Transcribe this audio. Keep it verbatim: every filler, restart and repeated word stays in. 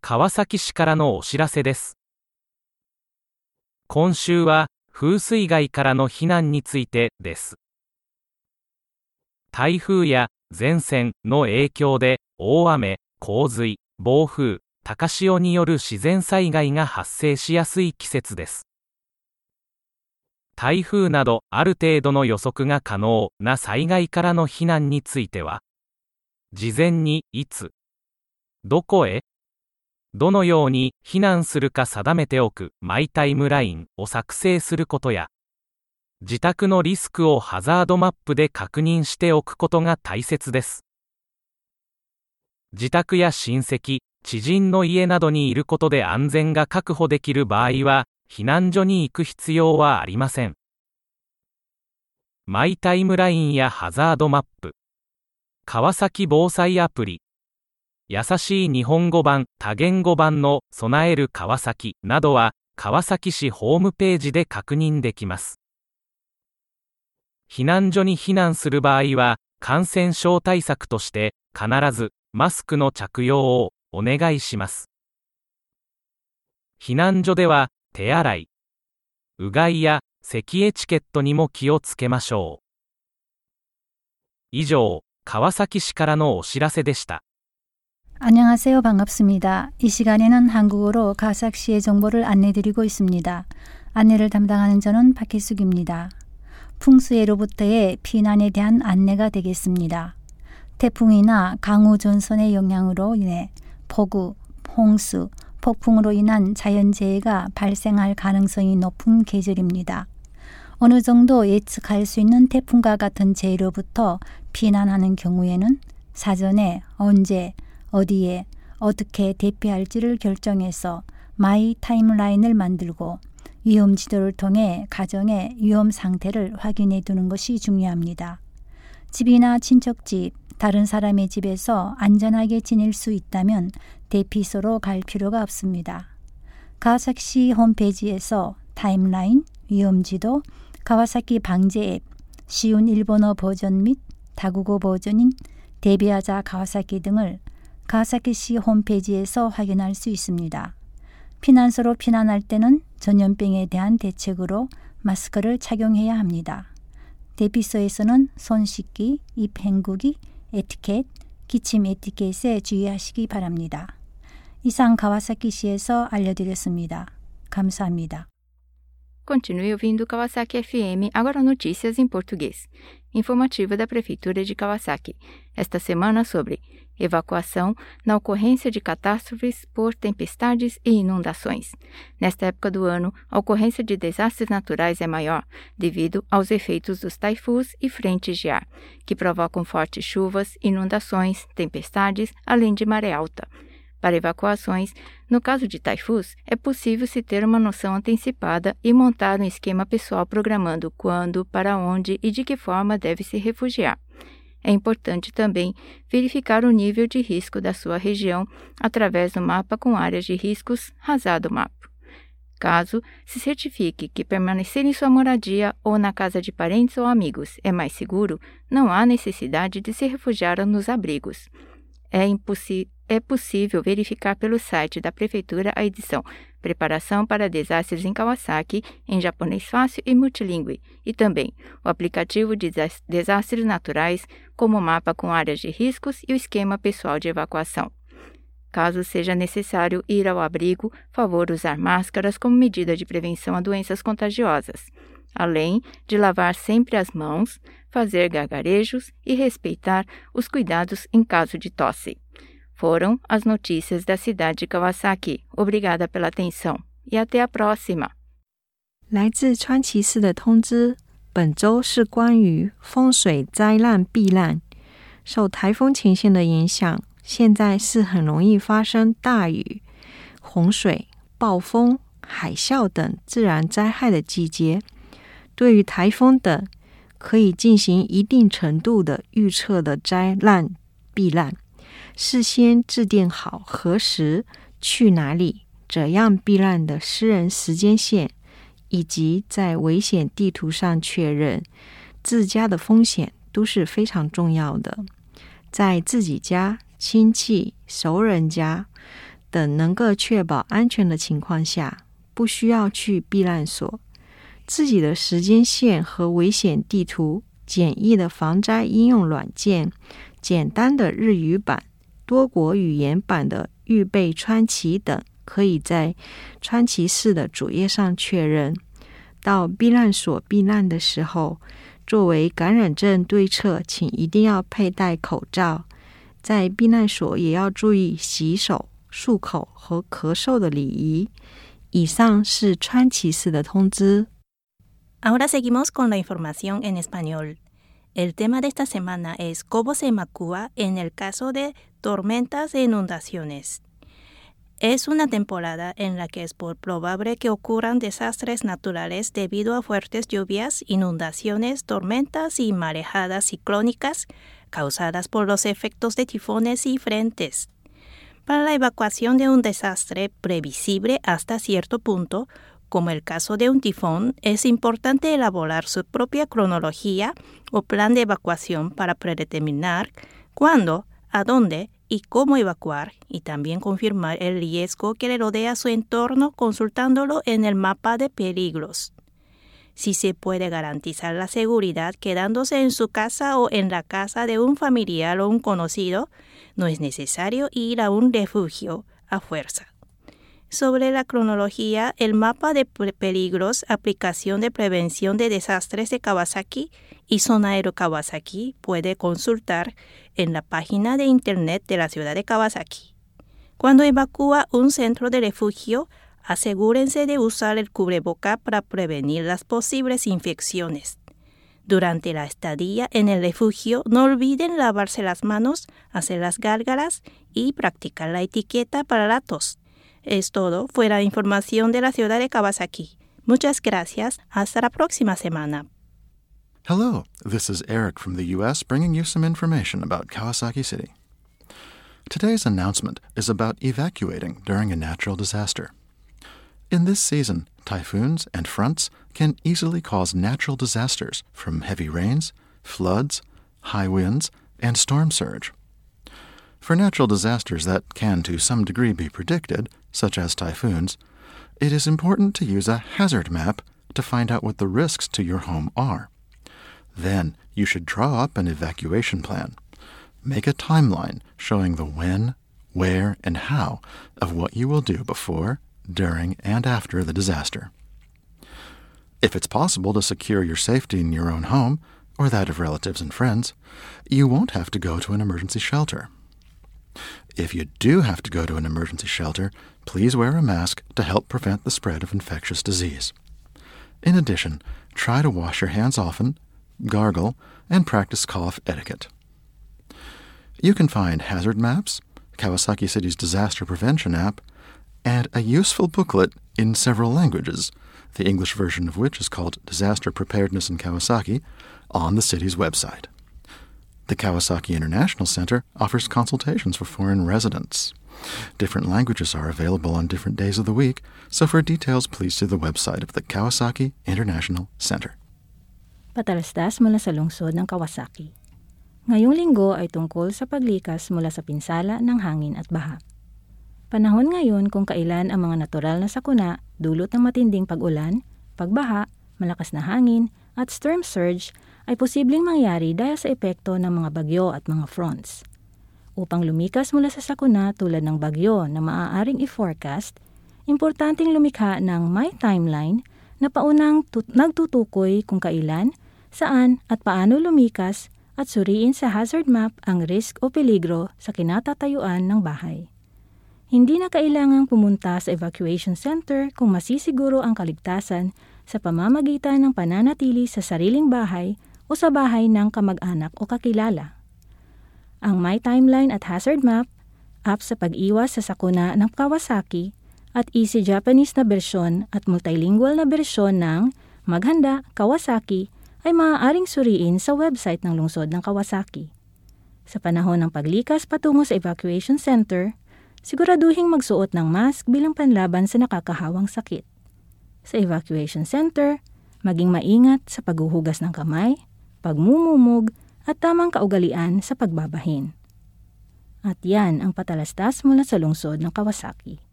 川崎市からのお知らせです。今週は風水害からの避難についてです。台風や前線の影響で大雨、洪水、暴風、高潮による自然災害が発生しやすい季節です。台風などある程度の予測が可能な災害からの避難については、事前にいつ、どこへ、どのように避難するか定めておくマイタイムラインを作成することや、自宅のリスクをハザードマップで確認しておくことが大切です。自宅や親戚、知人の家などにいることで安全が確保できる場合は、避難所に行く必要はありません。マイタイムラインやハザードマップ、川崎防災アプリ、優しい日本語版、多言語版の備える川崎などは川崎市ホームページで確認できます。避難所に避難する場合は、感染症対策として必ずマスクの着用をお願いします。避難所では手洗い、うがいや咳エチケットにも気をつけましょう。以上、川崎市からのお知らせでした。 안녕하세요. 반갑습니다. 이 시간에는 한국어로 가삭시의 정보를 안내드리고 있습니다. 안내를 담당하는 저는 박혜숙입니다. 풍수해로부터의 피난에 대한 안내가 되겠습니다. 태풍이나 강우 전선의 영향으로 인해 폭우, 홍수, 폭풍으로 인한 자연재해가 발생할 가능성이 높은 계절입니다. 어느 정도 예측할 수 있는 태풍과 같은 재해로부터 피난하는 경우에는 사전에 언제, 어디에, 어떻게 대피할지를 결정해서 마이 타임라인을 만들고 위험 지도를 통해 가정의 위험 상태를 확인해 두는 것이 중요합니다. 집이나 친척집, 다른 사람의 집에서 안전하게 지낼 수 있다면 대피소로 갈 필요가 없습니다. 가와사키 홈페이지에서 타임라인, 위험지도, 가와사키 방제 앱, 쉬운 일본어 버전 및 다국어 버전인 대비하자 가와사키 등을 가와사키시 홈페이지에서 확인할 수 있습니다. 피난소로 피난할 때는 전염병에 대한 대책으로 마스크를 착용해야 합니다. 대피소에서는 손 씻기, 입 헹구기, 에티켓, 기침 에티켓에 주의하시기 바랍니다. 이상 가와사키시에서 알려드렸습니다. 감사합니다. Continue ouvindo Kawasaki F M, agora notícias em português. Informativa da Prefeitura de Kawasaki. Esta semana sobre evacuação na ocorrência de catástrofes por tempestades e inundações. Nesta época do ano, a ocorrência de desastres naturais é maior, devido aos efeitos dos taifus e frentes de ar, que provocam fortes chuvas, inundações, tempestades, além de maré alta. Para evacuações, no caso de taifus, é possível se ter uma noção antecipada e montar um esquema pessoal programando quando, para onde e de que forma deve se refugiar. É importante também verificar o nível de risco da sua região através do mapa com áreas de riscos Hazard Map. Caso se certifique que permanecer em sua moradia ou na casa de parentes ou amigos é mais seguro, não há necessidade de se refugiar nos abrigos. É, é possível verificar pelo site da Prefeitura a edição Preparação para Desastres em Kawasaki, em japonês fácil e multilingüe, e também o aplicativo de desastres naturais, como o mapa com áreas de riscos e o esquema pessoal de evacuação. Caso seja necessário ir ao abrigo, favor usar máscaras como medida de prevenção a doenças contagiosas, além de lavar sempre as mãos, fazer gargarejos e respeitar os cuidados em caso de tosse. Foram as notícias da cidade de Kawasaki. Obrigada pela atenção e até a próxima. 来自川崎市的通知，本周是关于风水灾难避难。受台风前线的影响，现在是很容易发生大雨、洪水、暴风、海啸等自然灾害的季节。对于台风等，可以进行一定程度的预测的灾难避难。事先制定好何时、去哪里、怎样避难的私人时间线，以及在危险地图上确认自家的风险都是非常重要的。在自己家、亲戚、熟人家等能够确保安全的情况下，不需要去避难所。自己的时间线和危险地图、简易的防灾应用软件、简单的日语版、多国语言版的预备川崎等，可以在川崎市的主页上确认。到避难所避难的时候，作为感染症对策，请一定要佩戴口罩。在避难所也要注意洗手、漱口和咳嗽的礼仪。以上是川崎市的通知。 Ahora seguimos con la información en español. El tema de esta semana es cómo se evacúa en el caso de tormentas e inundaciones. Es una temporada en la que es probable que ocurran desastres naturales debido a fuertes lluvias, inundaciones, tormentas y marejadas ciclónicas causadas por los efectos de tifones y frentes. Para la evacuación de un desastre previsible hasta cierto punto, como el caso de un tifón, es importante elaborar su propia cronología o plan de evacuación para predeterminar cuándo, a dónde y cómo evacuar, y también confirmar el riesgo que le rodea a su entorno consultándolo en el mapa de peligros. Si se puede garantizar la seguridad quedándose en su casa o en la casa de un familiar o un conocido, no es necesario ir a un refugio a fuerza. Sobre la cronología, el mapa de peligros, aplicación de prevención de desastres de Kawasaki y Zona Aero Kawasaki puede consultar en la página de internet de la ciudad de Kawasaki. Cuando evacúa un centro de refugio, asegúrense de usar el cubreboca para prevenir las posibles infecciones. Durante la estadía en el refugio, no olviden lavarse las manos, hacer las gárgaras y practicar la etiqueta para la tos. Es todo. Fue la información de la ciudad de Kawasaki. Muchas gracias. Hasta la próxima semana. Hello, this is Eric from the U S bringing you some information about Kawasaki City. Today's announcement is about evacuating during a natural disaster. In this season, typhoons and fronts can easily cause natural disasters from heavy rains, floods, high winds, and storm surge. For natural disasters that can to some degree be predicted, such as typhoons, it is important to use a hazard map to find out what the risks to your home are. Then you should draw up an evacuation plan. Make a timeline showing the when, where, and how of what you will do before, during, and after the disaster. If it's possible to secure your safety in your own home, or that of relatives and friends, you won't have to go to an emergency shelter. If you do have to go to an emergency shelter, please wear a mask to help prevent the spread of infectious disease. In addition, try to wash your hands often, gargle, and practice cough etiquette. You can find hazard maps, Kawasaki City's disaster prevention app, and a useful booklet in several languages, the English version of which is called Disaster Preparedness in Kawasaki, on the city's website. The Kawasaki International Center offers consultations for foreign residents. Different languages are available on different days of the week, so for details, please see the website of the Kawasaki International Center. Patalastas mula sa lungsod ng Kawasaki. Ngayong linggo ay tungkol sa paglikas mula sa pinsala ng hangin at baha. Panahon ngayon kung kailan ang mga natural na sakuna dulot ng matinding pag-ulan, pagbaha, malakas na hangin, at storm surge ay posibleng mangyari dahil sa epekto ng mga bagyo at mga fronts. Upang lumikas mula sa sakuna tulad ng bagyo na maaaring i-forecast, importanteng lumikha ng may timeline na paunang tut- nagtutukoy kung kailan, saan at paano lumikas at suriin sa hazard map ang risk o peligro sa kinatatayuan ng bahay. Hindi na kailangang pumunta sa evacuation center kung masisiguro ang kaligtasan sa pamamagitan ng pananatili sa sariling bahay o sa bahay ng kamag-anak o kakilala. Ang My Timeline at Hazard Map, app sa pag-iwas sa sakuna ng Kawasaki, at Easy Japanese na bersyon at multilingual na bersyon ng Maghanda Kawasaki ay maaaring suriin sa website ng lungsod ng Kawasaki. Sa panahon ng paglikas patungo sa evacuation center, siguraduhing magsuot ng mask bilang panlaban sa nakakahawang sakit. Sa evacuation center, maging maingat sa paghuhugas ng kamay, pagmumumog, at tamang kaugalian sa pagbabahin. At yan ang patalastas mula sa lungsod ng Kawasaki.